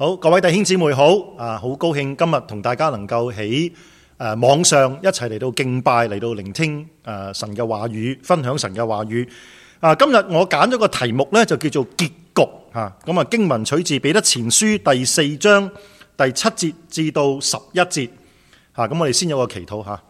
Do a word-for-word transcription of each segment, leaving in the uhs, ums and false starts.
好，各位弟兄姊妹好，啊，好高興今日同大家能夠喺誒網上一齊嚟到敬拜，嚟到聆聽誒神嘅話語，分享神嘅話語。啊，今日我揀咗個題目呢，就叫做結局吓。咁啊，經文取自彼得前書第四章第七節至到十一節。吓，咁我哋先有個祈禱吓。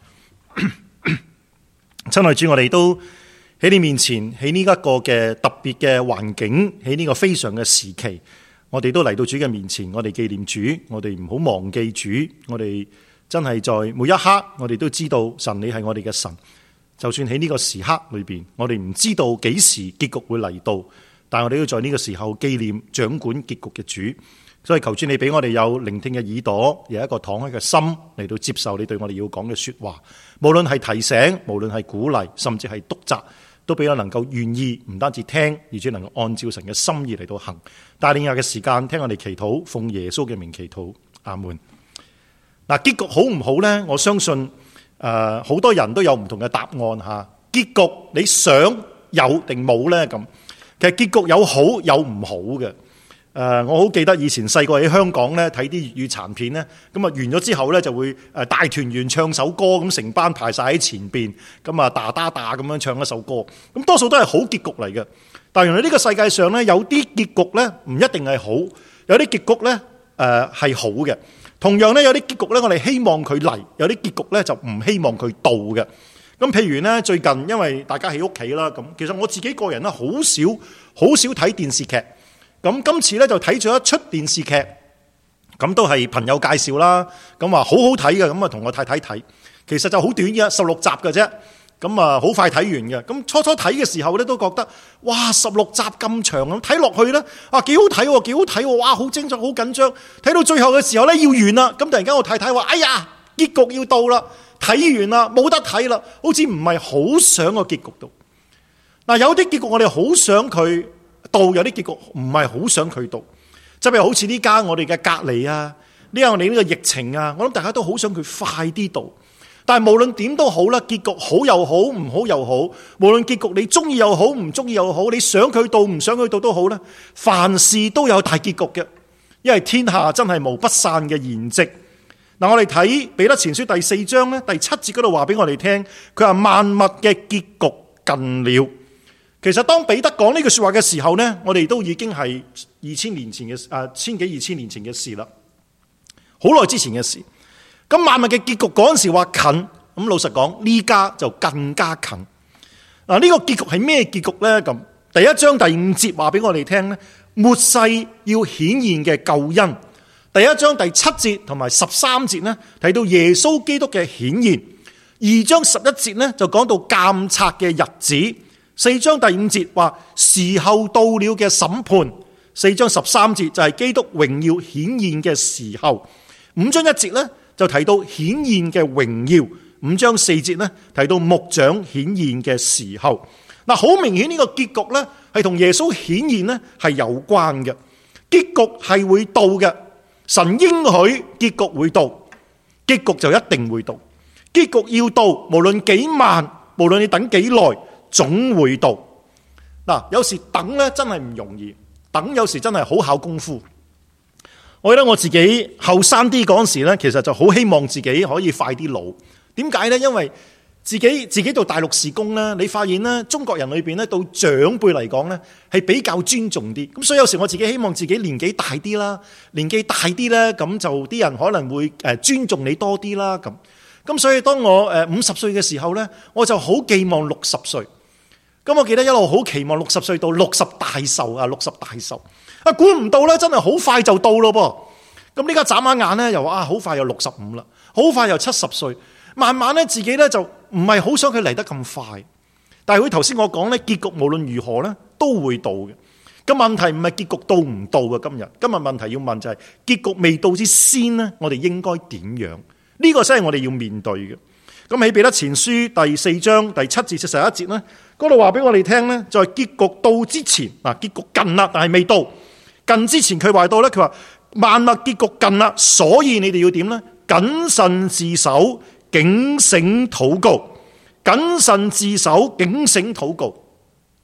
親愛主，我哋都喺你面前，喺呢一個嘅特別嘅環境，喺呢個非常嘅時期。我哋都嚟到主嘅面前，我哋紀念主，我哋唔好忘記主，我哋真係在每一刻，我哋都知道神你係我哋嘅神。就算喺呢個時刻裏邊，我哋唔知道幾時結局會嚟到，但係我哋要在呢個時候紀念掌管結局嘅主。所以求主你俾我哋有聆聽嘅耳朵，有一個敞開嘅心嚟到接受你對我哋要講嘅說話。無論係提醒，無論係鼓勵，甚至係督責，都俾我能夠願意，唔單止聽，而且能夠按照神嘅心意嚟到行。帶領下嘅時間，聽我哋祈禱，奉耶穌嘅名祈禱，阿門。嗱，結局好唔好呢？我相信誒，好多人都有唔同嘅答案吓。結局你想有定冇呢？咁其實結局有好有唔好嘅。誒，我好記得以前細個喺香港咧睇啲粵語殘片咧，咁啊完咗之後咧就會誒大團圓唱首歌，咁成班排晒喺前邊，咁啊打打打咁樣唱一首歌，咁多數都係好結局嚟嘅。但係原來呢個世界上咧有啲結局咧唔一定係好，有啲結局咧誒係好嘅。同樣咧有啲結局咧我哋希望佢嚟，有啲結局咧就唔希望佢到嘅。咁譬如咧最近因為大家喺屋企啦，咁其實我自己個人咧好少好少睇電視劇。咁今次咧就睇咗一出電視劇，咁都係朋友介紹啦，咁話好好睇嘅，咁啊同我太太睇，其實就好短嘅，十六集嘅啫，咁啊好快睇完嘅。咁初初睇嘅時候咧都覺得，哇十六集咁長咁睇落去咧，啊幾好睇喎，幾好睇喎，哇好精彩，好緊張。睇到最後嘅時候咧要完啦，咁突然間我太太話：哎呀，結局要到啦，睇完啦，冇得睇啦，好似唔係好想個結局到。嗱，有啲結局我哋好想佢到，有啲結局唔係好想佢到，即係好似呢家我哋嘅隔離啊，呢家我哋呢個疫情啊，我諗大家都好想佢快啲到。但係無論點都好啦，結局好又好，唔好又好，無論結局你中意又好，唔中意又好，你想佢到唔想佢到都好啦，凡事都有大結局嘅，因為天下真係無不散嘅筵席。嗱，我哋睇彼得前書第四章咧第七節嗰度話俾我哋聽，佢話萬物嘅結局近了。其實當彼得講呢句說話嘅時候呢，我哋都已經係二千年前嘅誒，千幾二千年前嘅事啦，好耐之前嘅事。咁萬物嘅結局嗰陣時話近，咁老實講呢家就更加近。嗱，呢個結局係咩結局呢？咁第一章第五節話俾我哋聽呢，末世要顯現嘅救恩。第一章第七節同埋十三節呢，提到耶穌基督嘅顯現。二章十一節呢，就講到監察嘅日子。四章第五節話時候到了嘅審判，四章十三節就係基督榮耀顯現嘅時候，五章一節呢就提到顯現嘅榮耀，五章四節呢提到牧長顯現嘅時候。嗱，好明顯呢個結局呢係同耶穌顯現呢係有關嘅，結局係會到嘅，神應許結局會到，結局就一定會到，結局要到，無論幾慢，無論你等幾耐，總會到。嗱，有時等咧真係唔容易，等有時真係好考功夫。我記得我自己後生啲嗰陣時咧，其實就好希望自己可以快啲老。點解咧？因為自己自己做大陸事工咧，你發現咧，中國人裏邊咧，到長輩嚟講咧，係比較尊重啲。咁所以有時我自己希望自己年紀大啲啦，年紀大啲咧，咁就啲人可能會誒尊重你多啲啦。咁咁所以當我誒五十歲嘅時候咧，我就好寄望六十歲。咁我記得一路好期望六十歲到六十大壽啊，六十大壽啊，估唔到咧，真係好快就到咯噃。咁呢家眨下眼咧，又啊好快又六十五啦，好快又七十歲，慢慢咧自己咧就唔係好想佢嚟得咁快。但係好似頭先我講咧，結局無論如何咧都會到嘅。咁問題唔係結局到唔到嘅，今日今日問題要問就係結局未到之先咧，我哋應該點樣？呢個先係我哋要面對嘅。咁喺彼得前書第四章第七至十一節咧，嗰度話俾我哋聽咧，就係結局到之前，嗱，結局近啦，但係未到。近之前佢話到咧，佢話萬物結局近啦，所以你哋要點咧？謹慎自守，警醒禱告。謹慎自守，警醒禱告。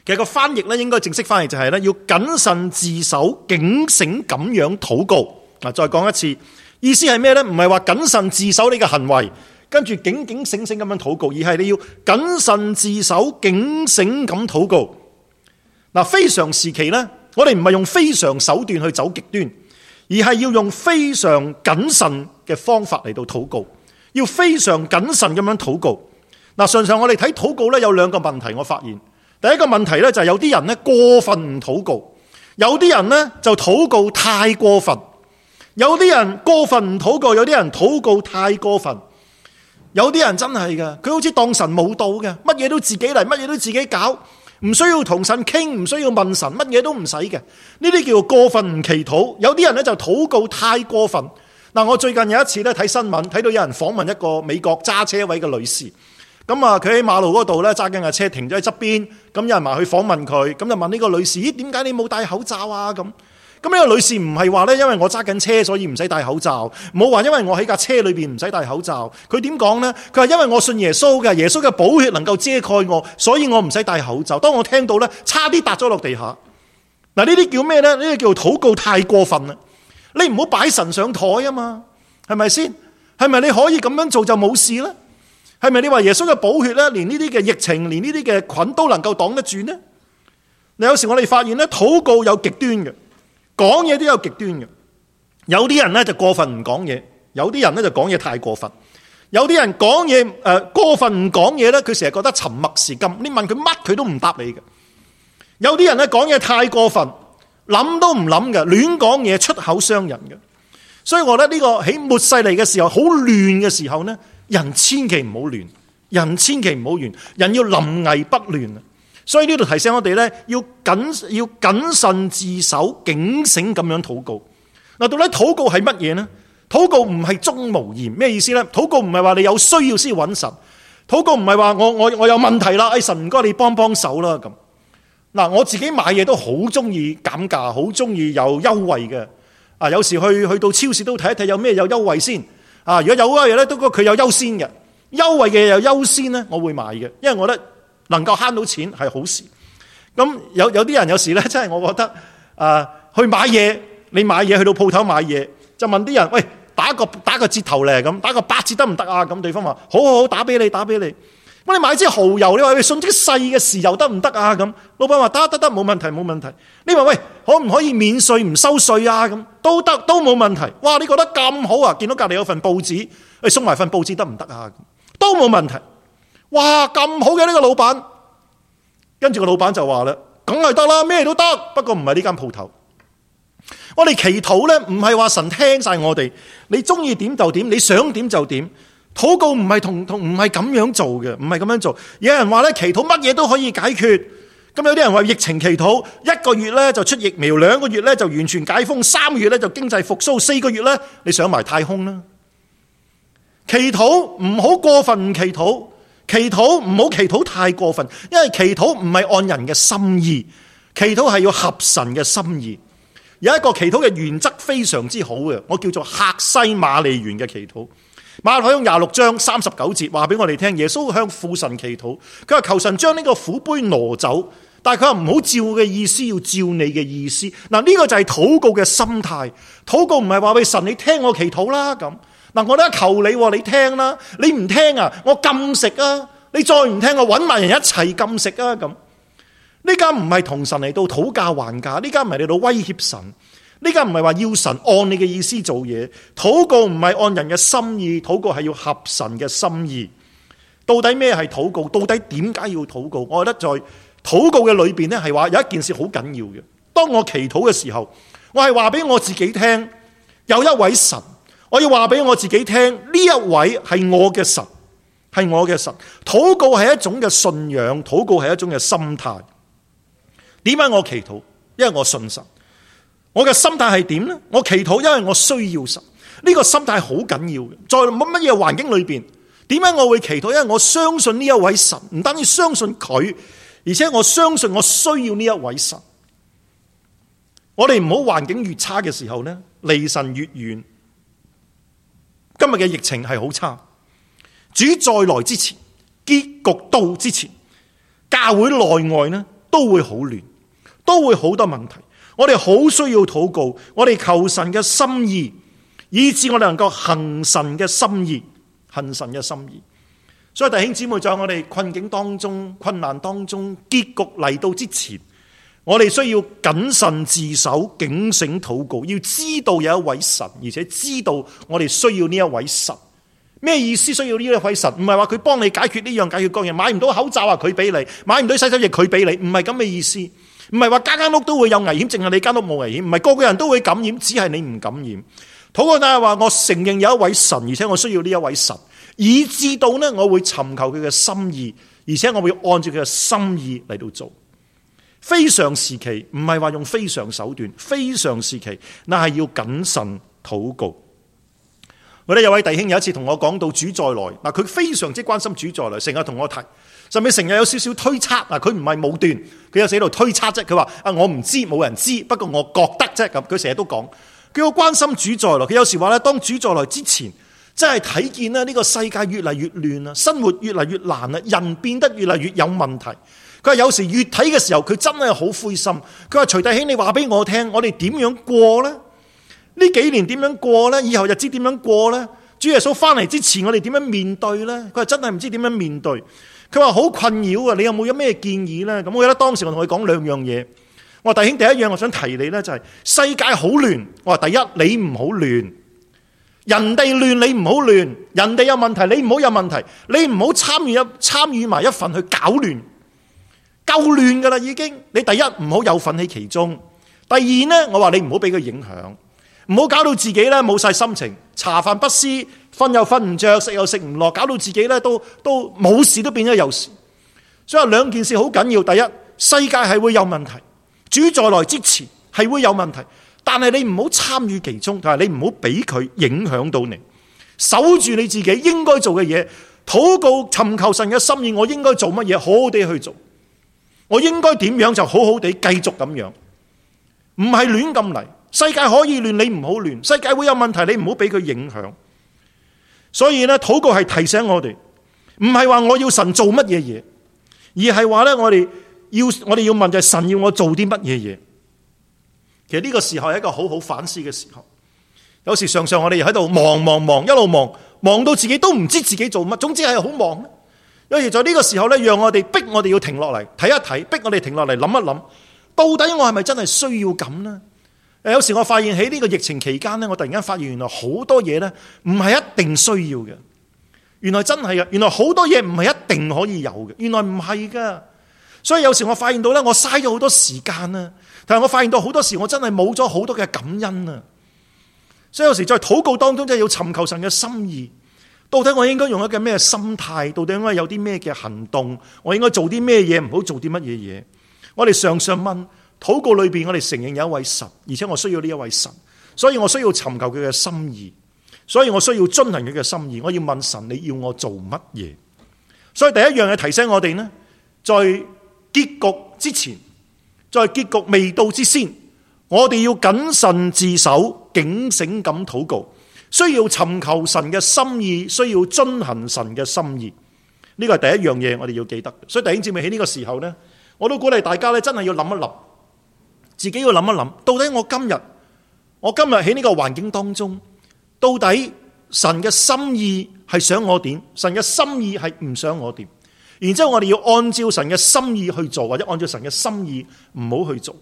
其實個翻譯咧應該正式翻譯就係咧要謹慎自守、警醒咁樣禱告。嗱，再講一次，意思係咩咧？唔係話謹慎自守你嘅行為，跟住警警醒醒咁樣禱告，而係你要謹慎自守、警醒咁禱告。嗱，非常時期咧，我哋唔係用非常手段去走極端，而係要用非常謹慎嘅方法嚟到禱告，要非常謹慎咁樣禱告。嗱，常常我哋睇禱告咧有兩個問題，我發現第一個問題咧就係有啲人咧過分唔禱告，有啲人咧就禱告太過分，有啲人過分唔禱告，有啲人禱告太過分，有啲人真係㗎，佢好似當神冇到嘅，乜嘢都自己嚟，乜嘢都自己搞，唔需要同神傾，唔需要問神，乜嘢都唔使嘅，呢啲叫做過分唔祈禱。有啲人咧就禱告太過分。嗱，我最近有一次咧睇新聞，睇到有人訪問一個美國揸車位嘅女士。咁啊，佢喺馬路嗰度咧揸緊架車停咗喺側邊，咁有人埋去訪問佢，咁就問呢個女士：咦，點解你冇戴口罩啊？咁咁呢個女士唔係話咧，因為我揸緊車所以唔使戴口罩，冇話因為我喺架車裏邊唔使戴口罩。佢點講呢？佢話因為我信耶穌嘅，耶穌嘅寶血能夠遮蓋我，所以我唔使戴口罩。當我聽到咧，差啲笪咗落地下。嗱，呢啲叫咩咧？呢啲叫禱告太過分啦！你唔好擺神上台啊嘛，係咪先？係咪你可以咁樣做就冇事咧？係咪你話耶穌嘅寶血咧，連呢啲嘅疫情，連呢啲嘅菌都能夠擋得住呢？你有時我哋發現咧，禱告有極端嘅，講嘢都有極端嘅。有啲人咧就過分唔講嘢，有啲人咧就講嘢太過分。有啲人講嘢誒過分唔講嘢咧，佢成日覺得沉默是金，你問佢乜佢都唔答你嘅。有啲人咧講嘢太過分，諗都唔諗嘅，亂講嘢，出口傷人嘅。所以我覺得呢個喺末世嚟嘅時候，好亂嘅時候呢，人千祈唔好亂，人千祈唔好亂，人要臨危不亂。所以呢度提醒我哋呢，要謹要謹慎自守，警醒咁樣禱告。嗱，到底禱告係乜嘢呢？禱告唔係忠無言，咩意思呢？禱告唔係話你有需要先揾神，禱告唔係話我我我有問題啦，哎神唔該你幫幫手啦咁。嗱，我自己買嘢都好中意減價，好中意有優惠嘅。啊，有時去去到超市都睇一睇有咩有優惠先。啊，如果有優惠咧，都覺得佢有優先嘅，優惠嘅有優先咧，我會買嘅，因為我覺得能夠慳到錢係好事。咁有有啲人有時咧，真係我覺得啊，去買嘢，你買嘢去到鋪頭買嘢，就問啲人，喂，打個打個折頭咧，咁打個八折得唔得啊？咁對方話好好好，打俾你打俾你。咁你買支蠔油，你話你送啲細嘅豉油得唔得啊？咁老闆話得得得，冇問題冇問題。你話喂，可唔可以免稅唔收稅啊？咁都得，都冇問題。哇，你覺得咁好啊？見到隔籬有份報紙，你送埋份報紙得唔得啊？都冇問題。哇，咁好嘅呢個老闆，跟住個老闆就話啦，梗係得啦，咩都得，不過唔係呢間鋪頭。我哋祈禱咧，唔係話神聽晒我哋，你中意點就點，你想點就點。禱告唔係同同唔係咁樣做嘅，唔係咁樣做。有人話咧，祈禱乜嘢都可以解決。咁有啲人話疫情祈禱，一個月咧就出疫苗，兩個月咧就完全解封，三個月咧就經濟復甦，四個月咧你上埋太空啦。祈禱唔好過分，唔祈禱，祈禱唔好祈禱太過分，因為祈禱唔係按人嘅心意，祈禱係要合神嘅心意。有一個祈禱嘅原則非常之好嘅，我叫做客西馬尼園嘅祈禱。馬可福音廿六章三十九節話俾我哋聽，耶穌向父神祈禱，佢話求神將呢個苦杯挪走，但係佢話唔好照我嘅意思，要照你嘅意思。嗱，呢個就係禱告嘅心態。禱告唔係話俾神你聽我祈禱啦咁。嗱，我咧求你，你聽啦，你唔聽啊，我禁食啊，你再唔聽我搵埋人一齊禁食啊咁。呢家唔係同神嚟到討價還價，呢家唔係嚟到威脅神。呢家唔係話要神按你嘅意思做嘢，禱告唔係按人嘅心意，禱告係要合神嘅心意。到底咩係禱告？到底點解要禱告？我覺得在禱告嘅裏邊咧，係話有一件事好緊要嘅。當我祈禱嘅時候，我係話俾我自己聽，有一位神，我要話俾我自己聽，呢一位係我嘅神，係我嘅神。禱告係一種嘅信仰，禱告係一種嘅心態。點解我祈禱？因為我信神。我嘅心態係點呢？我祈禱，因為我需要神。呢個心態好緊要嘅。在乜乜嘢環境裏邊，點解我會祈禱？因為我相信呢一位神，唔單止相信佢，而且我相信我需要呢一位神。我哋唔好環境越差嘅時候呢，離神越遠。今日嘅疫情係好差，主再來之前，結局到之前，教會內外呢都都會好亂，都會好多問題。我哋好需要禱告，我哋求神嘅心意，以致我哋能夠行神嘅心意，行神嘅心意。所以弟兄姊妹，在我哋困境當中、困難當中、結局嚟到之前，我哋需要謹慎自守、警醒禱告，要知道有一位神，而且知道我哋需要呢一位神。咩意思？需要呢一位神？唔係話佢幫你解決呢樣解決嗰樣，買唔到口罩啊佢俾你，買唔到洗手液佢俾你，唔係咁嘅意思。唔係話間間屋都會有危險，淨係你間屋冇危險。唔係個個人都會感染，只係你唔感染。禱告但係話，我承認有一位神，而且我需要呢一位神，以致到呢我會尋求佢嘅心意，而且我會按照佢嘅心意嚟到做。非常時期唔係話用非常手段，非常時期那係要謹慎禱告。我哋有位弟兄有一次同我講到主再來，嗱佢非常之關心主再來，成日同我提，甚至成日有少少推測。嗱佢唔係武斷，佢有寫度推測啫。佢話啊我唔知，冇人知，不過我覺得啫咁。佢成日都講，佢好關心主再來。佢有時話咧，當主再來之前，真係睇見咧呢個世界越嚟越亂啊，生活越嚟越難啊，人變得越嚟越有問題。佢話有時越睇嘅時候，佢真係好灰心。佢話徐弟兄，你話俾我聽，我哋點樣過呢？呢幾年點樣過呢？以後日子點樣過呢？主耶穌翻嚟之前，我哋點樣面對呢？佢話真係唔知點樣面對。佢話好困擾啊！你有冇有咩建議呢？咁我記得當時我同佢講兩樣嘢。我話弟兄，第一樣我想提你呢，就係世界好亂。我話第一，你唔好亂，人哋亂你唔好亂，人哋有問題你唔好有問題，你唔好參與一參與埋一份去搞亂，夠亂噶啦已經。你第一唔好有份喺其中，第二呢，我話你唔好俾佢影響。唔好搞到自己咧冇晒心情，茶飯不思，瞓又瞓唔着，食又食唔落，搞到自己咧都都冇事都變咗有事。所以兩件事好緊要。第一，世界係會有問題，主再來之前係會有問題，但係你唔好參與其中，同埋你唔好俾佢影響到你，守住你自己應該做嘅嘢，禱告尋求神嘅心意。我應該做乜嘢，好好地去做。我應該點樣就好好地繼續咁樣，唔係亂咁嚟。世界可以亂，你唔好亂。世界會有問題，你唔好俾佢影響。所以咧，禱告係提醒我哋，唔係話我要神做乜嘢嘢，而係話咧，我哋要我哋要問就係神要我做啲乜嘢嘢。其實呢個時候係一個好好反思嘅時候。有時常常我哋又喺度忙忙忙，一路忙忙到自己都唔知自己做乜，總之係好忙。有時在呢個時候咧，讓我哋逼我哋要停落嚟睇一睇，逼我哋停落嚟諗一諗，到底我係咪真係需要咁呢？有時我發現喺呢個疫情期間呢，我突然間發現原來好多嘢呢唔係一定需要嘅。原來真係嘅，原來好多嘢唔係一定可以有嘅。原來唔係噶。所以有時我發現到呢，我嘥咗好多時間啊，但係我發現到好多時我真係冇咗好多嘅感恩啊。所以有時在禱告當中真係要尋求神嘅心意。到底我應該用一個咩心態？到底應該有啲咩嘅行動？我應該做啲咩嘢？唔好做啲乜嘢嘢？我哋常常問。禱告裏邊，我哋承認有一位神，而且我需要呢一位神，所以我需要尋求佢嘅心意，所以我需要遵行佢嘅心意。我要問神，你要我做乜嘢？所以第一樣嘢提醒我哋呢，在結局之前，在結局未到之先，我哋要謹慎自守，警醒咁禱告，需要尋求神嘅心意，需要遵行神嘅心意。呢個係第一樣嘢，我哋要記得。所以弟兄姊妹喺呢個時候呢，我都鼓勵大家咧，真係要諗一諗。自己要諗一諗，到底我今日，我今日喺呢個環境當中，到底神嘅心意係想我點？神嘅心意係唔想我點？然之後我哋要按照神嘅心意去做，或者按照神嘅心意唔好去做。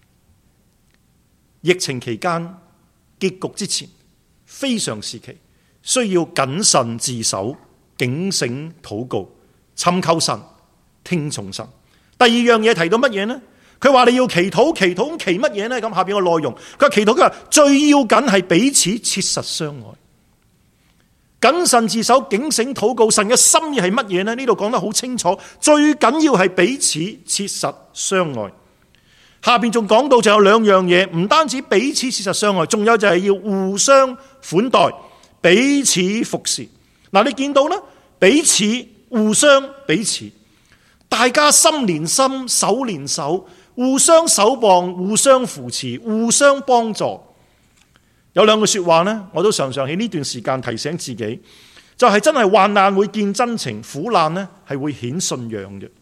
疫情期間結局之前，非常時期，需要謹慎自守，警醒禱告，尋求神，聽從神。第二樣嘢提到乜嘢呢？佢話你要祈禱，祈禱祈乜嘢呢？咁下邊個內容，佢話祈禱，佢話最要緊係彼此切實相愛，謹慎自守，警醒禱告。神嘅心意係乜嘢呢？呢度講得好清楚，最緊要係彼此切實相愛。下邊仲講到就有兩樣嘢，唔單止彼此切實相愛，仲有就係要互相款待，彼此服侍。嗱，你見到啦，彼此互相彼此，大家心連心，手連手。互相守望，互相扶持，互相幫助。有兩句說話呢，我都常常喺呢段時間提醒自己，就係真係患難會見真情，苦難呢係會顯信仰嘅。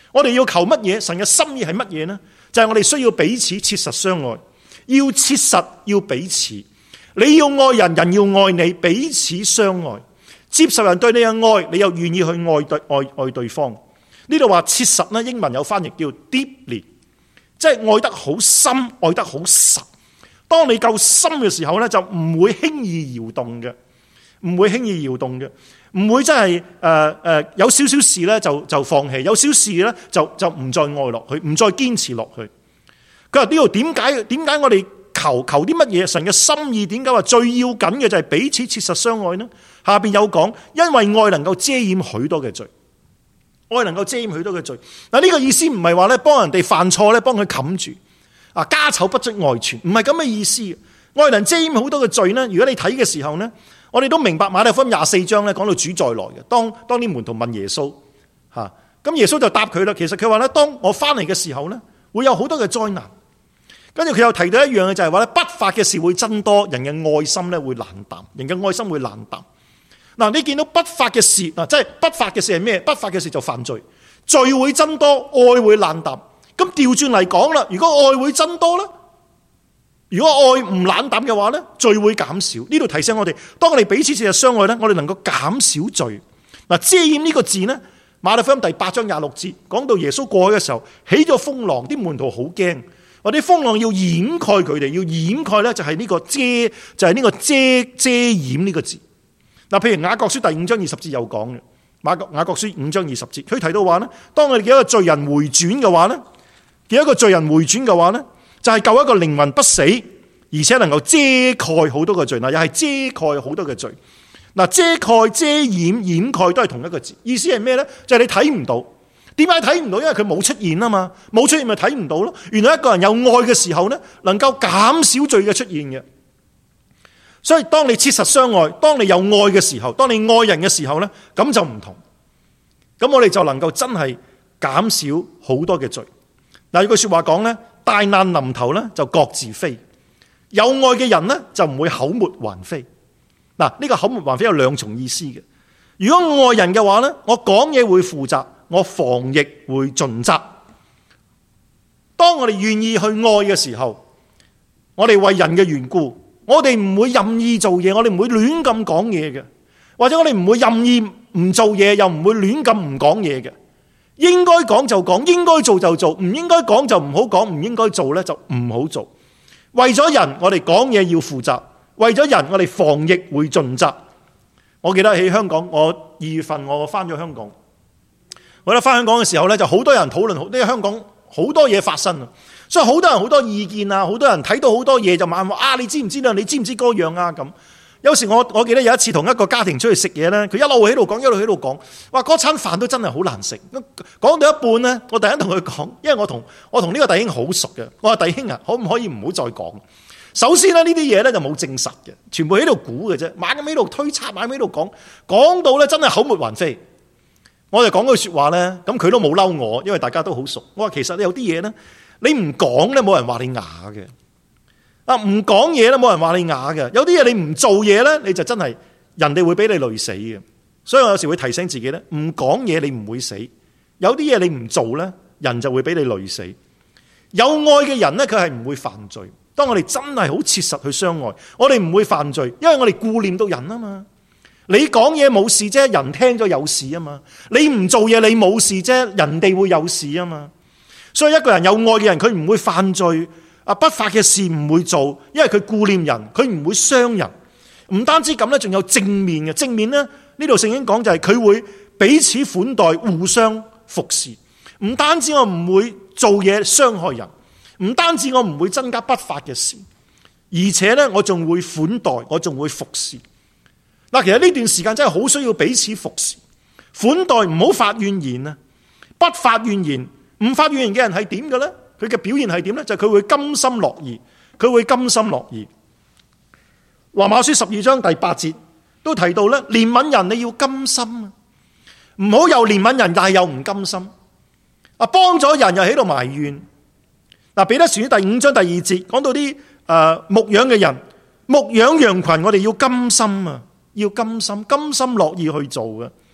我哋要求乜嘢？神嘅心意係乜嘢呢？就係我哋需要彼此切實相愛，要切實要彼此。你要愛人，人要愛你，彼此相愛，接受人對你嘅愛，你又願意去愛對愛愛對方。呢度話切實呢，英文有翻譯叫 deeply， 即係愛得好深，愛得好實。當你夠深嘅時候呢，就唔會輕易搖動嘅，唔會輕易搖動嘅，唔會真係誒誒有少少事呢就就放棄，有少少事呢就就唔再愛落去，唔再堅持落去。佢話呢度點解點解我哋求求啲乜嘢？神嘅心意點解話最要緊嘅就係彼此切實相愛呢？下邊有講，因為愛能夠遮掩許多嘅罪。愛能夠遮掩許多嘅罪。嗱，呢個意思唔係話咧幫人哋犯錯咧幫佢冚住，啊家醜不出外傳，唔係咁嘅意思。愛能遮掩好多嘅罪呢，如果你睇嘅時候呢，我哋都明白馬太福音廿四章咧講到主再來嘅。當當啲門徒問耶穌，吓咁耶穌就答佢啦。其實佢話咧，當我翻嚟嘅時候呢，會有好多嘅災難。跟住佢又提到一樣嘅就係話咧，不法嘅事會增多，人嘅愛心咧會冷淡，人嘅愛心會冷淡。嗱，你見到不法嘅事，嗱，即係不法嘅事係咩？不法嘅事就犯罪，罪會增多，愛會冷淡。咁調轉嚟講啦，如果愛會增多咧，如果愛唔冷淡嘅話咧，罪會減少。呢度提醒我哋，當我哋彼此切實相愛咧，我哋能夠減少罪。嗱，遮掩呢個字呢，馬太福音第八章廿六節講到耶穌過去嘅時候，起咗風浪，啲門徒好驚，話啲風浪要掩蓋佢哋，要掩蓋咧就係呢個遮，就係呢個遮遮掩呢個字。嗱，譬如雅各書第五章二十節有講嘅，雅各雅各書五章二十節，佢提到話咧，當我哋叫一個罪人回轉嘅話咧，叫一個罪人回轉嘅話咧，就係救一個靈魂不死，而且能夠遮蓋好多嘅罪。嗱，又係遮蓋好多嘅罪。嗱，遮蓋、遮掩、掩蓋都係同一個字，意思係咩咧？就係你睇唔到。點解睇唔到？因為佢冇出現啊嘛，冇出現咪睇唔到咯。原來一個人有愛嘅時候咧，能夠減少罪嘅出現嘅。所以當你切實相愛，當你有愛嘅時候，當你愛人嘅時候呢，咁就唔同。咁我哋就能夠真係減少好多嘅罪。嗱，有句說話講呢，大難臨頭呢就各自飛。有愛嘅人呢就唔會口沫橫飛。嗱，呢個口沫橫飛有兩重意思嘅。如果愛人嘅話呢，我講嘢會負責，我防疫會盡責。當我哋願意去愛嘅時候，我哋為人嘅緣故。我哋唔會任意做嘢，我哋唔會亂咁講嘢嘅，或者我哋唔會任意唔做嘢，又唔會亂咁唔講嘢嘅。應該講就講，應該做就做，唔應該講就唔好講，唔應該做呢就唔好做。為咗人，我哋講嘢要負責；為咗人，我哋防疫會盡責。我記得喺香港，我二月份我翻咗香港，我覺得翻香港嘅時候呢，就好多人討論，呢個香港好多嘢發生啊。所以好多人好多意見啊，好多人睇到好多嘢就問我啊，你知唔知道？你知唔知嗰樣啊？咁有時我我記得有一次同一個家庭出去食嘢咧，佢一路喺度講，一路喺度講，話嗰餐飯都真係好難食。講到一半咧，我突然間同佢講，因為我同我同呢個弟兄好熟嘅，我話弟兄啊，可唔可以唔好再講？首先咧，呢啲嘢咧就冇證實嘅，全部喺度估嘅啫，猛咁喺度推測，猛咁喺度講，講到咧真係口沫橫飛。我就講句說話咧，咁佢都冇嬲我，因為大家都好熟。我話其實有啲嘢咧。你唔講咧，冇人話你啞嘅。啊，唔講嘢咧，冇人話你啞嘅。有啲嘢你唔做嘢咧，你就真係人哋會俾你累死嘅。所以我有時會提醒自己咧，唔講嘢你唔會死。有啲嘢你唔做咧，人就會俾你累死。有愛嘅人咧，佢係唔會犯罪。當我哋真係好切實去相愛，我哋唔會犯罪，因為我哋顧念到人啊嘛。你講嘢冇事啫，人聽咗有事啊嘛。你唔做嘢你冇事啫，人哋會有事啊嘛。所以一個人有愛嘅人，佢唔會犯罪，啊不法嘅事唔會做，因為佢顧念人，佢唔會傷人。唔單止咁咧，仲有正面嘅正面咧。呢度聖經講就係佢會彼此款待，互相服侍。唔單止我唔會做嘢傷害人，唔單止我唔會增加不法嘅事，而且咧我仲會款待，我仲會服侍。嗱，其實呢段時間真係好需要彼此服侍、款待，唔好發怨言啊！不發怨言。唔發怨言嘅人係點嘅咧？佢嘅表現係點咧？就係佢會甘心樂意，佢會甘心樂意。羅馬書十二章第八節都提到咧，憐憫人你要甘心啊，唔好又憐憫人，但係又唔甘心。啊，幫咗人又喺度埋怨。嗱，彼得前書第五章第二節講到啲誒牧養嘅人，牧養羊群，我哋要甘心啊，要甘心，甘心樂意去做嘅。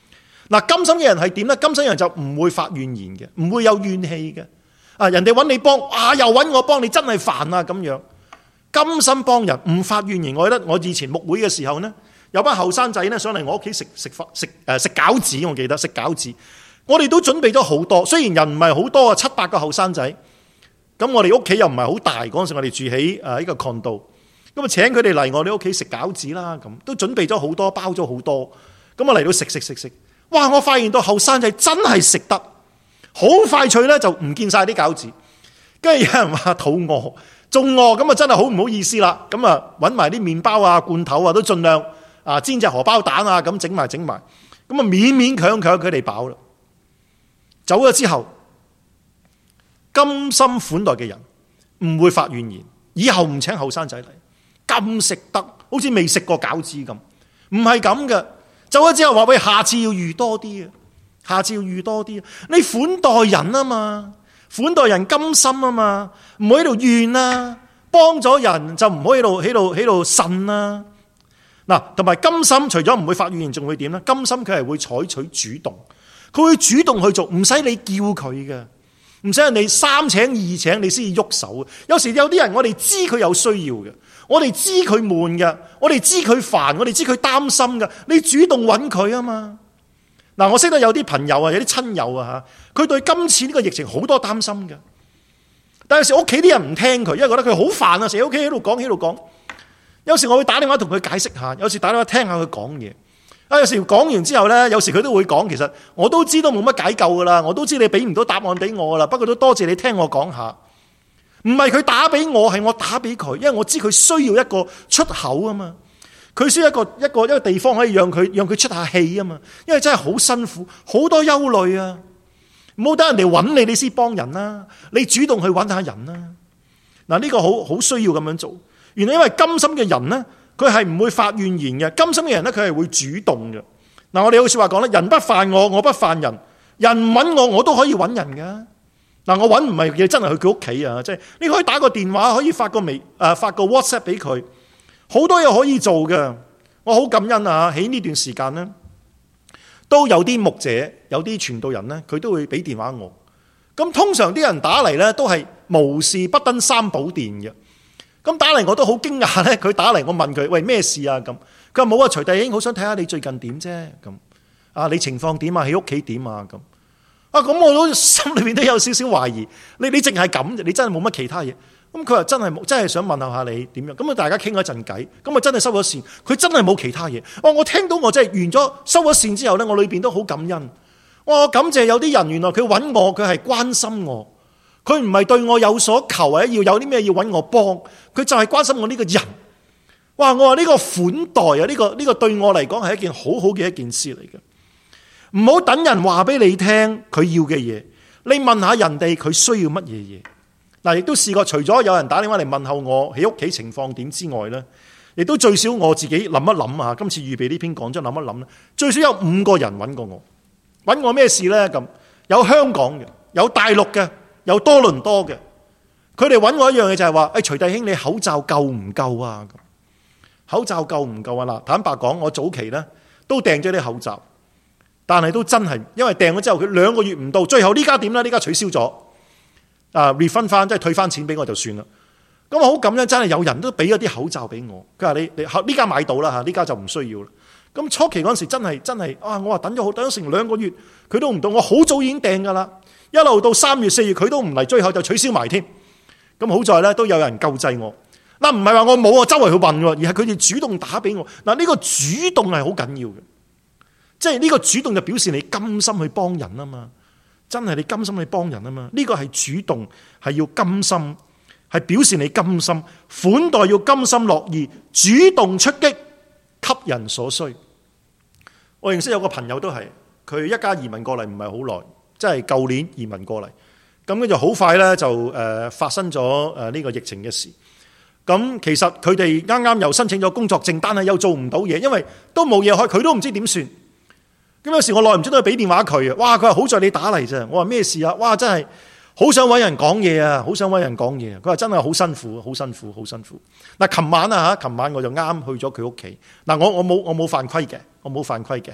嗱，甘心嘅人係點咧？甘心嘅人就唔會發怨言嘅，唔會有怨氣嘅。啊，人哋揾你幫，啊又揾我幫你，真係煩啊咁樣。甘心幫人，唔發怨言。我記得我以前牧會嘅時候呢，有班後生仔呢上嚟我屋企食食飯食誒食餃子，我記得食餃子。我哋都準備咗好多，雖然人唔係好多啊，七八個後生仔。咁我哋屋企又唔係好大，嗰陣時我哋住喺誒呢個 condo，咁啊請佢哋嚟我哋屋企食餃子啦，咁都準備咗好多，包咗好多。咁啊嚟到食食食食，哇！我發現到後生仔真係食得好快脆咧，就唔見晒啲餃子。跟住有人話肚餓，仲餓，咁啊真係好唔好意思啦。咁啊揾埋啲麵包啊、罐頭啊，都盡量啊煎隻荷包蛋啊，咁整埋整埋。咁啊勉勉強強佢哋飽啦。走咗之後，甘心款待嘅人唔會發怨言，以後唔請後生仔嚟，咁食得好似未食過餃子咁，唔係咁嘅。走咗之後話喂，下次要預多啲啊，下次要預多啲。你款待人啊嘛，款待人甘心啊嘛，唔好喺度怨啊，幫咗人就唔好喺度喺度喺度呻啊。嗱，同埋甘心除咗唔會發怨言，仲會點咧？甘心佢係會採取主動。佢會主動去做，唔使你叫佢嘅，唔使人哋三請二請你先至喐手。有時有啲人我哋知佢有需要嘅，我哋知佢悶嘅，我哋知佢煩，我哋知佢擔心嘅，你主動揾佢啊嘛。嗱，我識得有啲朋友啊，有啲親友啊吓，佢對今次呢個疫情好多擔心嘅，但係有時屋企啲人唔聽佢，因為覺得佢好煩啊，成日屋企喺度講喺度講。有時我會打電話同佢解釋下，有時打電話聽下佢講嘢。啊！有時講完之後呢，有時佢都會講，其實我都知道冇乜解救噶啦，我都知你俾唔到答案俾我噶啦，不過都多謝你聽我講下。唔係佢打俾我，係我打俾佢，因為我知佢需要一個出口啊嘛，佢需要一個一個一個地方可以讓佢讓佢出下氣啊嘛，因為真係好辛苦，好多憂慮啊，唔好等人哋揾你，你先幫人啦，你主動去揾下人啦。嗱，呢個好好需要咁樣做。原來因為甘心嘅人呢，佢係唔會發怨言嘅，甘心嘅人咧，佢係會主動嘅。嗱，我哋有句說話講咧，人不犯我，我不犯人。人唔揾我，我都可以揾人噶。嗱，我揾唔係叫真係去佢屋企啊，即係你可以打個電話，可以發個微誒發個 WhatsApp 俾佢，好多嘢可以做嘅。我好感恩啊！喺呢段時間咧，都有啲牧者、有啲傳道人咧，佢都會俾電話我。咁通常啲人打嚟咧，都係無事不登三寶殿嘅。咁打嚟我都好驚訝咧，佢打嚟我問佢，喂，咩事啊？咁佢話冇啊，徐弟兄好想睇下你最近點啫。咁啊，你情況點啊？喺屋企點啊？咁啊，咁我都心裏面都有少少懷疑。你你淨係咁，你真係冇乜其他嘢。咁佢話真係冇，真係想問候下你點樣。咁啊，大家傾咗一陣偈，咁啊真係收咗線。佢真係冇其他嘢。哇！我聽到我真係完咗收咗線之後咧，我裏邊都好感恩。我感謝有啲人原來佢揾我，佢係關心我。佢唔係對我有所求，或者要有啲咩要揾我幫，佢就係關心我呢個人。哇！我話呢個款待啊，呢個呢個對我嚟講係一件好好嘅一件事嚟嘅。唔好等人話俾你聽佢要嘅嘢，你問下人哋佢需要乜嘢嘢。嗱，亦都試過，除咗有人打電話嚟問候我喺屋企情況點之外呢，亦都最少我自己諗一諗啊。今次預備呢篇講章諗一諗咧，最少有五個人揾過我，揾我咩事呢？咁有香港嘅，有大陸嘅。有多倫多嘅，佢哋揾我一樣嘢就係話，誒，徐弟兄，你口罩夠唔夠啊？口罩夠唔夠啊？嗱，坦白講，我早期呢都訂咗啲口罩，但係都真係，因為訂咗之後佢兩個月唔到，最後呢家點呢？呢家取消咗，啊 refund 翻，即係退翻錢俾我就算啦。咁我好感恩，真係有人都俾咗啲口罩俾我。佢話你你呢家買到啦吓，呢家就唔需要啦。咁初期嗰陣時真係真係啊！我話等咗好等咗成兩個月，佢都唔到，我好早已經訂噶啦。一路到三月四月佢都唔嚟，最後就取消埋添。咁好在咧都有人救濟我。嗱，唔係話我冇啊，周圍去問，而係佢哋主動打俾我。嗱，呢個主動係好緊要嘅，即係呢個主動就表示你甘心去幫人啊嘛。真係你甘心去幫人啊嘛。呢個係主動，係要甘心，係表示你甘心款待，要甘心樂意，主動出擊，給人所需。我認識有個朋友都係，佢一家移民過嚟唔係好耐。即係舊年移民過嚟，咁咧就好快咧就誒發生咗誒呢個疫情嘅事。咁其實佢哋啱啱又申請咗工作證，但係又做唔到嘢，因為都冇嘢開，佢都唔知點算。咁有時我耐唔中都去俾電話佢啊，哇！佢話好在你打嚟啫。我話咩事啊？哇！真係好想揾人講嘢啊，好想揾人講嘢。佢話真係好辛苦，好辛苦，好辛苦。嗱，琴晚啊嚇，琴晚我就啱去咗佢屋企。嗱，我我冇我冇犯規嘅，我冇犯規嘅。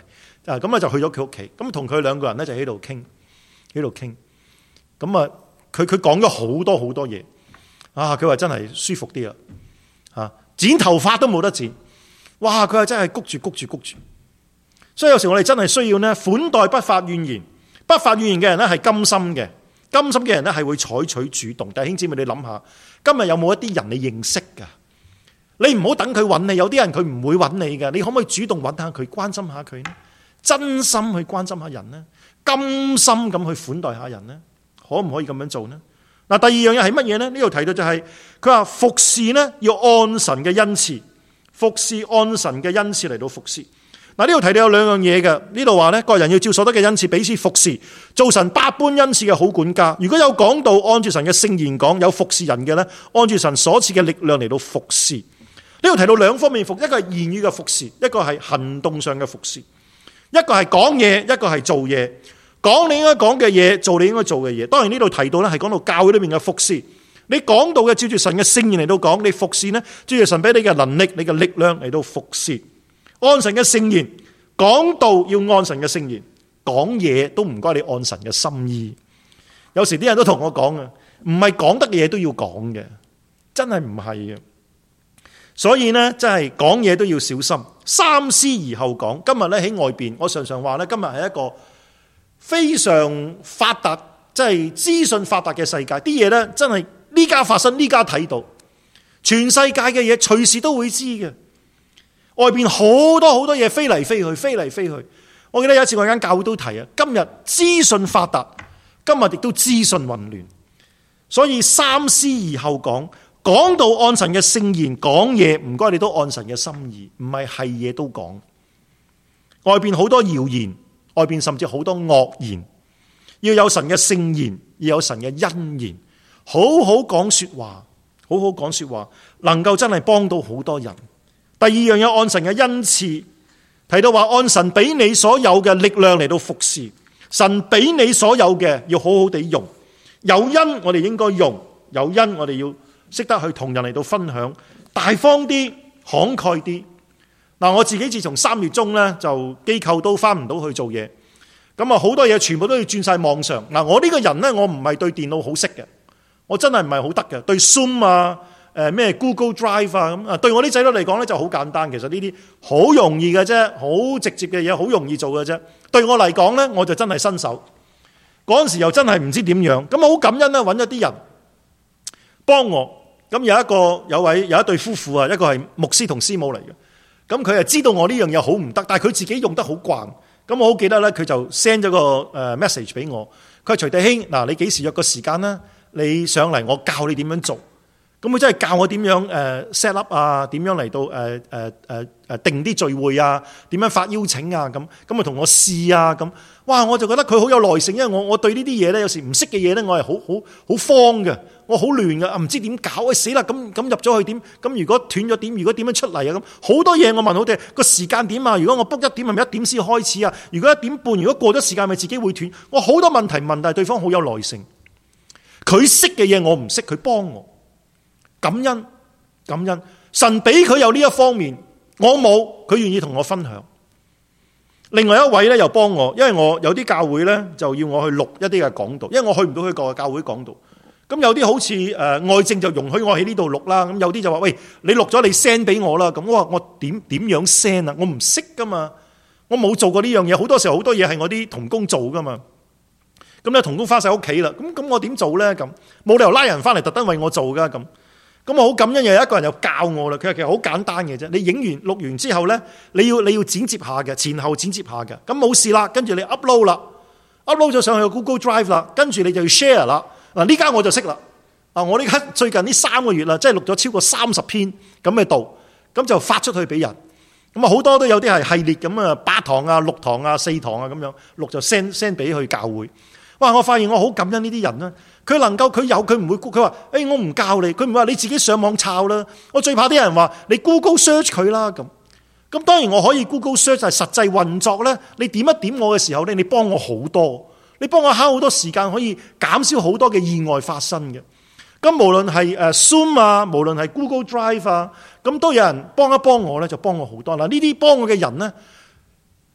啊，咁啊就去咗佢屋企，咁同佢兩個人咧就喺度傾，喺度傾。咁啊，佢佢講咗好多好多嘢。啊，佢話真係舒服啲啊，吓剪頭髮都冇得剪。哇，佢話真係谷住谷住谷住。所以有時我哋真係需要咧款待不發怨言，不發怨言嘅人咧係甘心嘅，甘心嘅人咧係會採取主動。弟兄姊妹，你諗下，今日有冇一啲人你認識噶？你唔好等佢揾你，有啲人佢唔會揾你噶，你可唔可以主動揾下佢，關心下佢呢？真心去關心下人呢？甘心咁去款待下人呢？可唔可以咁樣做呢？嗱，第二樣嘢係乜嘢呢？呢度提到就係佢話服侍呢要按神嘅恩賜，服侍按神嘅恩賜嚟到服侍。嗱，呢度提到有兩樣嘢嘅，呢度話呢，各人要照所得嘅恩賜彼此服侍，做神百般恩賜嘅好管家。如果有講道按住神嘅聖言講，有服侍人嘅呢，按住神所賜嘅力量嚟到服侍。呢度提到兩方面服，一個係言語嘅服侍，一個係行動上嘅服侍。一個係講嘢，一個係做嘢。講你應該講嘅嘢，做你應該做嘅嘢。當然呢度提到咧，係講到教會裏面嘅服侍。你講到嘅照住神嘅聖言嚟到講，你服侍呢，照住神俾你嘅能力、你嘅力量嚟到服侍。按神嘅聖言講道，要按神嘅聖言講嘢，都唔該你按神嘅心意。有時啲人都同我講啊，唔係講得嘅嘢都要講嘅，真係唔係嘅。所以呢，真係講嘢都要小心，三思而後講。今日咧喺外邊，我常常話咧，今日係一個非常發達，即係資訊發達嘅世界，啲嘢咧真係呢家發生，呢家睇到，全世界嘅嘢隨時都會知嘅。外邊好多好多嘢飛嚟飛去，飛嚟飛去。我記得有一次我間教會都提啊，今日資訊發達，今日亦都資訊混亂，所以三思而後講。講到按神嘅聖言講嘢，唔該你都按神嘅心意，唔係係嘢都講。外邊好多謠言，外邊甚至好多惡言，要有神嘅聖言，要有神嘅恩言，好好講說話，好好講說話，能夠真係幫到好多人。第二樣嘢，按神嘅恩賜，提到話按神俾你所有嘅力量嚟到服侍，神俾你所有嘅要好好地用，有恩我哋應該用，有恩我哋要識得去同人嚟到分享，大方啲，慷慨啲。嗱，我自己自從三月中咧，就機構都翻唔到去做嘢，咁啊好多嘢全部都要轉晒網上。嗱，我呢個人咧，我唔係對電腦好識嘅，我真係唔係好得嘅。對 Zoom 啊，誒咩 Google Drive 啊咁啊，對我啲仔女嚟講咧就好簡單。其實呢啲好容易嘅啫，好直接嘅嘢，好容易做嘅啫。對我嚟講咧，我就真係新手。嗰陣時又真係唔知點樣，咁好感恩咧，揾咗啲人幫我。咁有一個有位有一對夫婦啊，一個係牧師同師母嚟嘅。咁佢係知道我呢樣嘢好唔得，但係佢自己用得好慣。咁我好記得咧，佢就 send 咗個誒 message 俾我。佢話徐弟兄，嗱，你幾時約個時間啦？你上嚟，我教你點樣做。咁佢真係教我點樣誒 set up 啊，點樣嚟到誒誒誒誒定啲聚會啊，點樣發邀請啊，咁咁啊同我試啊咁。哇！我就覺得佢好有耐性，因為我我對呢啲嘢咧，有時唔識嘅嘢咧，我係好好好慌嘅，我好亂嘅，唔知點搞，喂死啦！咁咁入咗去點？咁如果斷咗點？如果點樣出嚟啊？咁好多嘢我問好哋個時間點啊！如果我 book 一點係咪一點先開始啊？如果一點半，如果過咗時間咪自己會斷？我好多問題問，但係對方好有耐性。佢識嘅嘢我唔識，佢幫我，感恩感恩。神俾佢有呢一方面，我冇，佢願意同我分享。另外一位咧又幫我，因為我有啲教會咧就要我去錄一啲嘅講道，因為我去唔到去個教會講道。咁有啲好似誒外政就容許我喺呢度錄啦，咁有啲就話喂，你錄咗你 send 俾我啦。咁我話我點點樣 send 啊？我唔識噶嘛，我冇做過呢樣嘢。好多時候好多嘢係我啲同工做噶嘛。咁咧同工翻晒屋企啦，咁咁我點做咧？咁冇理由拉人翻嚟特登為我做噶咁。咁我好感恩，又有一個人又教我啦。佢話其實好簡單嘅啫，你影完錄完之後咧，你要你要剪接下嘅，前後剪接下嘅。咁冇事啦，跟住你 upload 啦 ，upload 咗上去個 Google Drive 啦，跟住你就要 share 啦。嗱呢家我就識啦。啊，我呢家最近呢三個月啦，即係錄咗超過三十篇咁嘅道，咁就發出去俾人。咁啊好多都有啲係系列咁啊，八堂啊、六堂啊、四堂啊咁樣錄就 send send 俾去教會。哇！我發現我好感恩呢啲人啦，佢能夠佢有佢唔會，佢話誒我唔教你，佢唔會話你自己上網抄啦。我最怕啲人話你 Google search 佢啦咁。咁當然我可以 Google search，但係實際運作咧，你點一點我嘅時候咧，你幫我好多，你幫我慳好多時間，可以減少好多嘅意外發生嘅。咁無論係誒 Zoom 啊，無論係 Google Drive 啊，咁都有人幫一幫我咧，就幫我好多啦。呢啲幫我嘅人咧，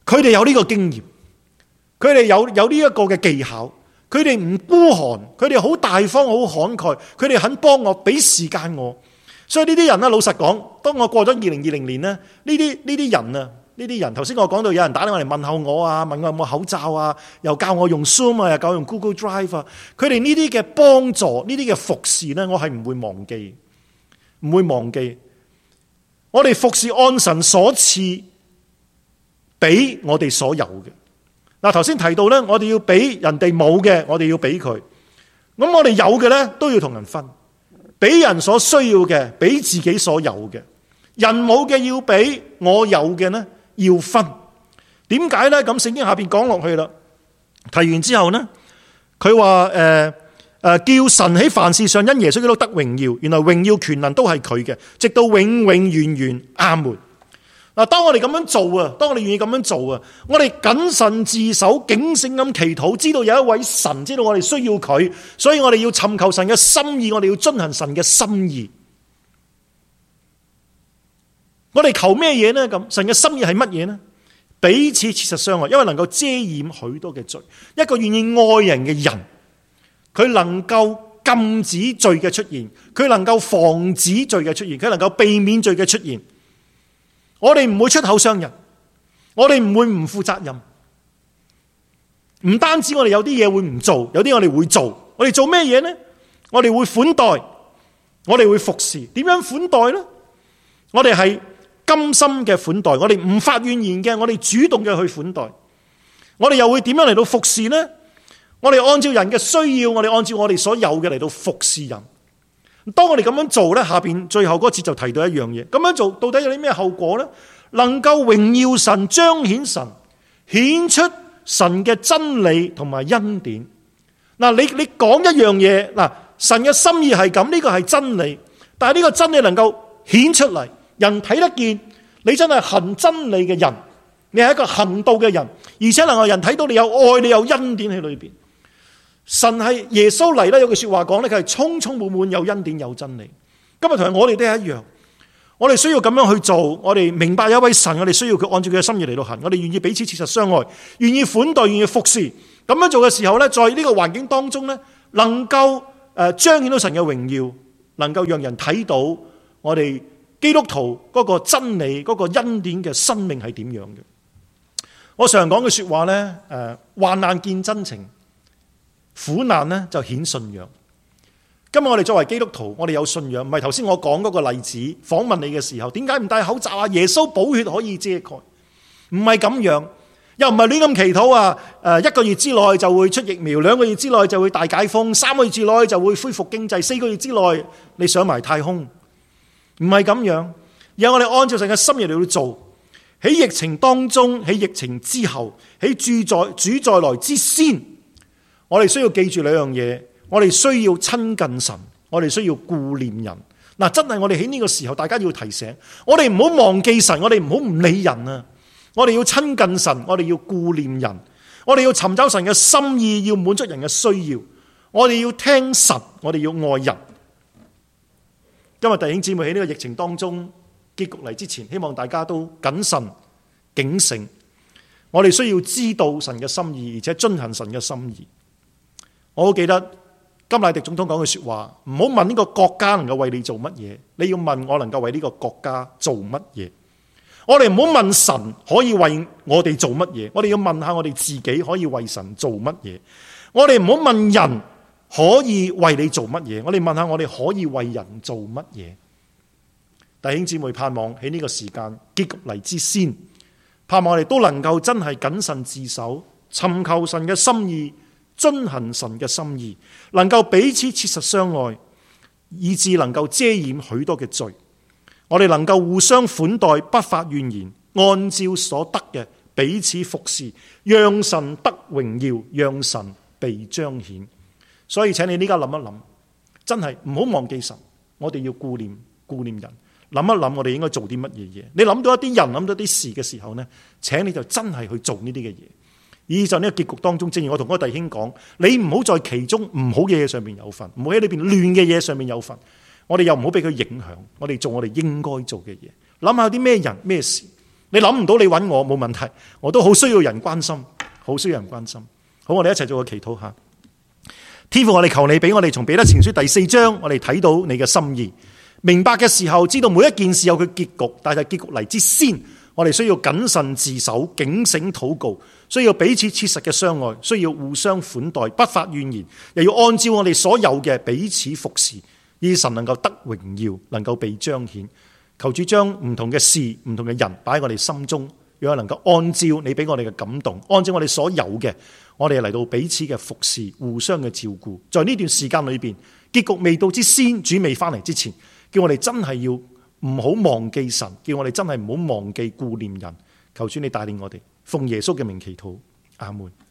佢哋有呢個經驗，佢哋有有呢一個嘅技巧，佢哋唔孤寒，佢哋好大方，好慷慨，佢哋肯幫我，俾時間我。所以呢啲人咧，老實講，當我過咗二零二零年咧，呢啲呢啲人啊，呢啲人，頭先我講到有人打電話嚟問候我啊，問我有冇口罩啊，又教我用 Zoom 啊，又教我用 Google Drive 啊，佢哋呢啲嘅幫助，呢啲嘅服侍咧，我係唔會忘記，唔會忘記。我哋服侍按神所賜俾我哋所有嘅。嗱，頭先提到咧，我哋要俾人哋冇嘅，我哋要俾佢。咁我哋有嘅咧，都要同人分。俾人所需要嘅，俾自己所有嘅。人冇嘅要俾，我有嘅呢要分。點解呢？咁聖經下邊講落去啦。提完之後呢，佢話誒誒，叫神喺凡事上因耶穌基督得榮耀。原來榮耀權能都係佢嘅，直到永永遠遠。阿門。嗱，當我哋咁樣做啊，當我哋願意咁樣做啊，我哋謹慎自守，警醒咁祈禱，知道有一位神，知道我哋需要佢，所以我哋要尋求神嘅心意，我哋要遵行神嘅心意。我哋求咩嘢呢？咁神嘅心意係乜嘢呢？彼此切實相愛，因為能夠遮掩許多嘅罪。一個願意愛人嘅人，佢能夠禁止罪嘅出現，佢能夠防止罪嘅出現，佢能夠避免罪嘅出現。我哋唔會出口傷人，我哋唔會唔負責任。唔單止我哋有啲嘢會唔做，有啲我哋會做。我哋做咩嘢呢？我哋會款待，我哋會服侍。點樣款待呢？我哋係甘心嘅款待，我哋唔發怨言嘅，我哋主動嘅去款待。我哋又會點樣嚟到服侍呢？我哋按照人嘅需要，我哋按照我哋所有嘅嚟到服侍人。當我哋咁樣做呢，下邊最後嗰節就提到一樣嘢。咁樣做到底有啲咩後果呢？能夠榮耀神、彰顯神、顯出神嘅真理同埋恩典。嗱，你你講一樣嘢，嗱，神嘅心意係咁，呢個係真理。但係呢個真理能夠顯出嚟，人睇得見，你真係行真理嘅人，你係一個行道嘅人，而且能夠人睇到你有愛，你有恩典喺裏邊。神係耶穌嚟咧，有句說話講咧，佢係充充滿滿有恩典有真理。今日同我哋都係一樣，我哋需要咁樣去做。我哋明白有一位神，我哋需要佢按照佢嘅心意嚟到行。我哋願意彼此切實相愛，願意款待，願意服侍。咁樣做嘅時候咧，在呢個環境當中咧，能夠誒彰顯到神嘅榮耀，能夠讓人睇到我哋基督徒嗰個真理、嗰個恩典嘅生命係點樣嘅。我常講嘅說話咧，誒，患難見真情。苦難呢就顯信仰。今日我哋作為基督徒，我哋有信仰，唔係頭先我講嗰個例子，訪問你嘅時候，點解唔戴口罩啊？耶穌寶血可以遮蓋，唔係咁樣，又唔係亂咁祈禱啊！誒，一個月之內就會出疫苗，兩個月之內就會大解封，三個月之內就會恢復經濟，四個月之內你上埋太空，唔係咁樣。而我哋按照神嘅心意嚟去做，喺疫情當中，喺疫情之後，喺主在主再來之先。我哋需要記住兩樣嘢，我哋需要親近神，我哋需要顧念人。嗱，真係我哋喺呢個時候，大家要提醒，我哋唔好忘記神，我哋唔好唔理人啊！我哋要親近神，我哋要顧念人，我哋要尋找神嘅心意，要滿足人嘅需要。我哋要聽神，我哋要愛人。今日弟兄姊妹喺呢個疫情當中結局嚟之前，希望大家都謹慎警醒。我哋需要知道神嘅心意，而且遵行神嘅心意。我好記得甘迺迪總統講嘅說話，唔好問呢個國家能夠為你做乜嘢，你要問我能夠為呢個國家做乜嘢。我哋唔好問神可以為我哋做乜嘢，我哋要問下我哋自己可以為神做乜嘢。我哋唔好問人可以為你做乜嘢，我哋問下我哋可以為人做乜嘢。弟兄姊妹，盼望喺呢個時間結局嚟之先，盼望我哋都能夠真係謹慎自守，尋求神嘅心意，遵行神嘅心意，能夠彼此切實相愛，以致能夠遮掩許多嘅罪。我哋能夠互相款待，不發怨言，按照所得嘅彼此服侍，讓神得榮耀，讓神被彰顯。所以請你呢家諗一諗，真係唔好忘記神，我哋要顧念顧念人，諗一諗我哋應該做啲乜嘢嘢。你諗到一啲人，諗到啲事嘅時候呢，請你就真係去做呢啲嘅嘢。以就呢個結局當中，正如我同嗰個弟兄講，你唔好在其中唔好嘅嘢上面有份，唔好喺裏邊亂嘅嘢上面有份。我哋又唔好俾佢影響，我哋做我哋應該做嘅嘢。諗下啲咩人咩事， 你諗唔到你揾我冇問題，我都好需要人關心，好需要人關心。好，我哋一齊做個祈禱下。天父，我哋求你俾我哋從彼得前書第四章，我哋睇到你嘅心意，明白嘅時候知道每一件事有佢結局，但係結局嚟之先，我哋需要謹慎自守、警醒禱告，需要彼此切實嘅相愛，需要互相款待，不發怨言，又要按照我哋所有嘅彼此服侍，以神能夠得榮耀，能夠被彰顯。求主將唔同嘅事、唔同嘅人擺喺我哋心中，讓我能夠按照你俾我哋嘅感動，按照我哋所有嘅，我哋嚟到彼此嘅服侍，互相嘅照顧。在呢段時間裏邊，結局未到之先，主未翻嚟之前，叫我哋真係要唔好忘記神，叫我哋真係唔好忘記顧念人。求主你帶領我哋，奉耶穌嘅名祈禱，阿門。